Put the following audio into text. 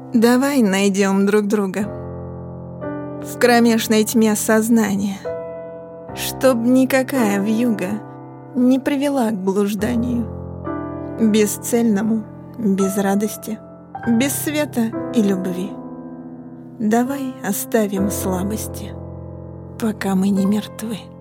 Давай найдем друг друга в кромешной тьме сознания, чтоб никакая вьюга не привела к блужданию, бесцельному, без радости, без света и любви. Давай оставим слабости, пока мы не мертвы.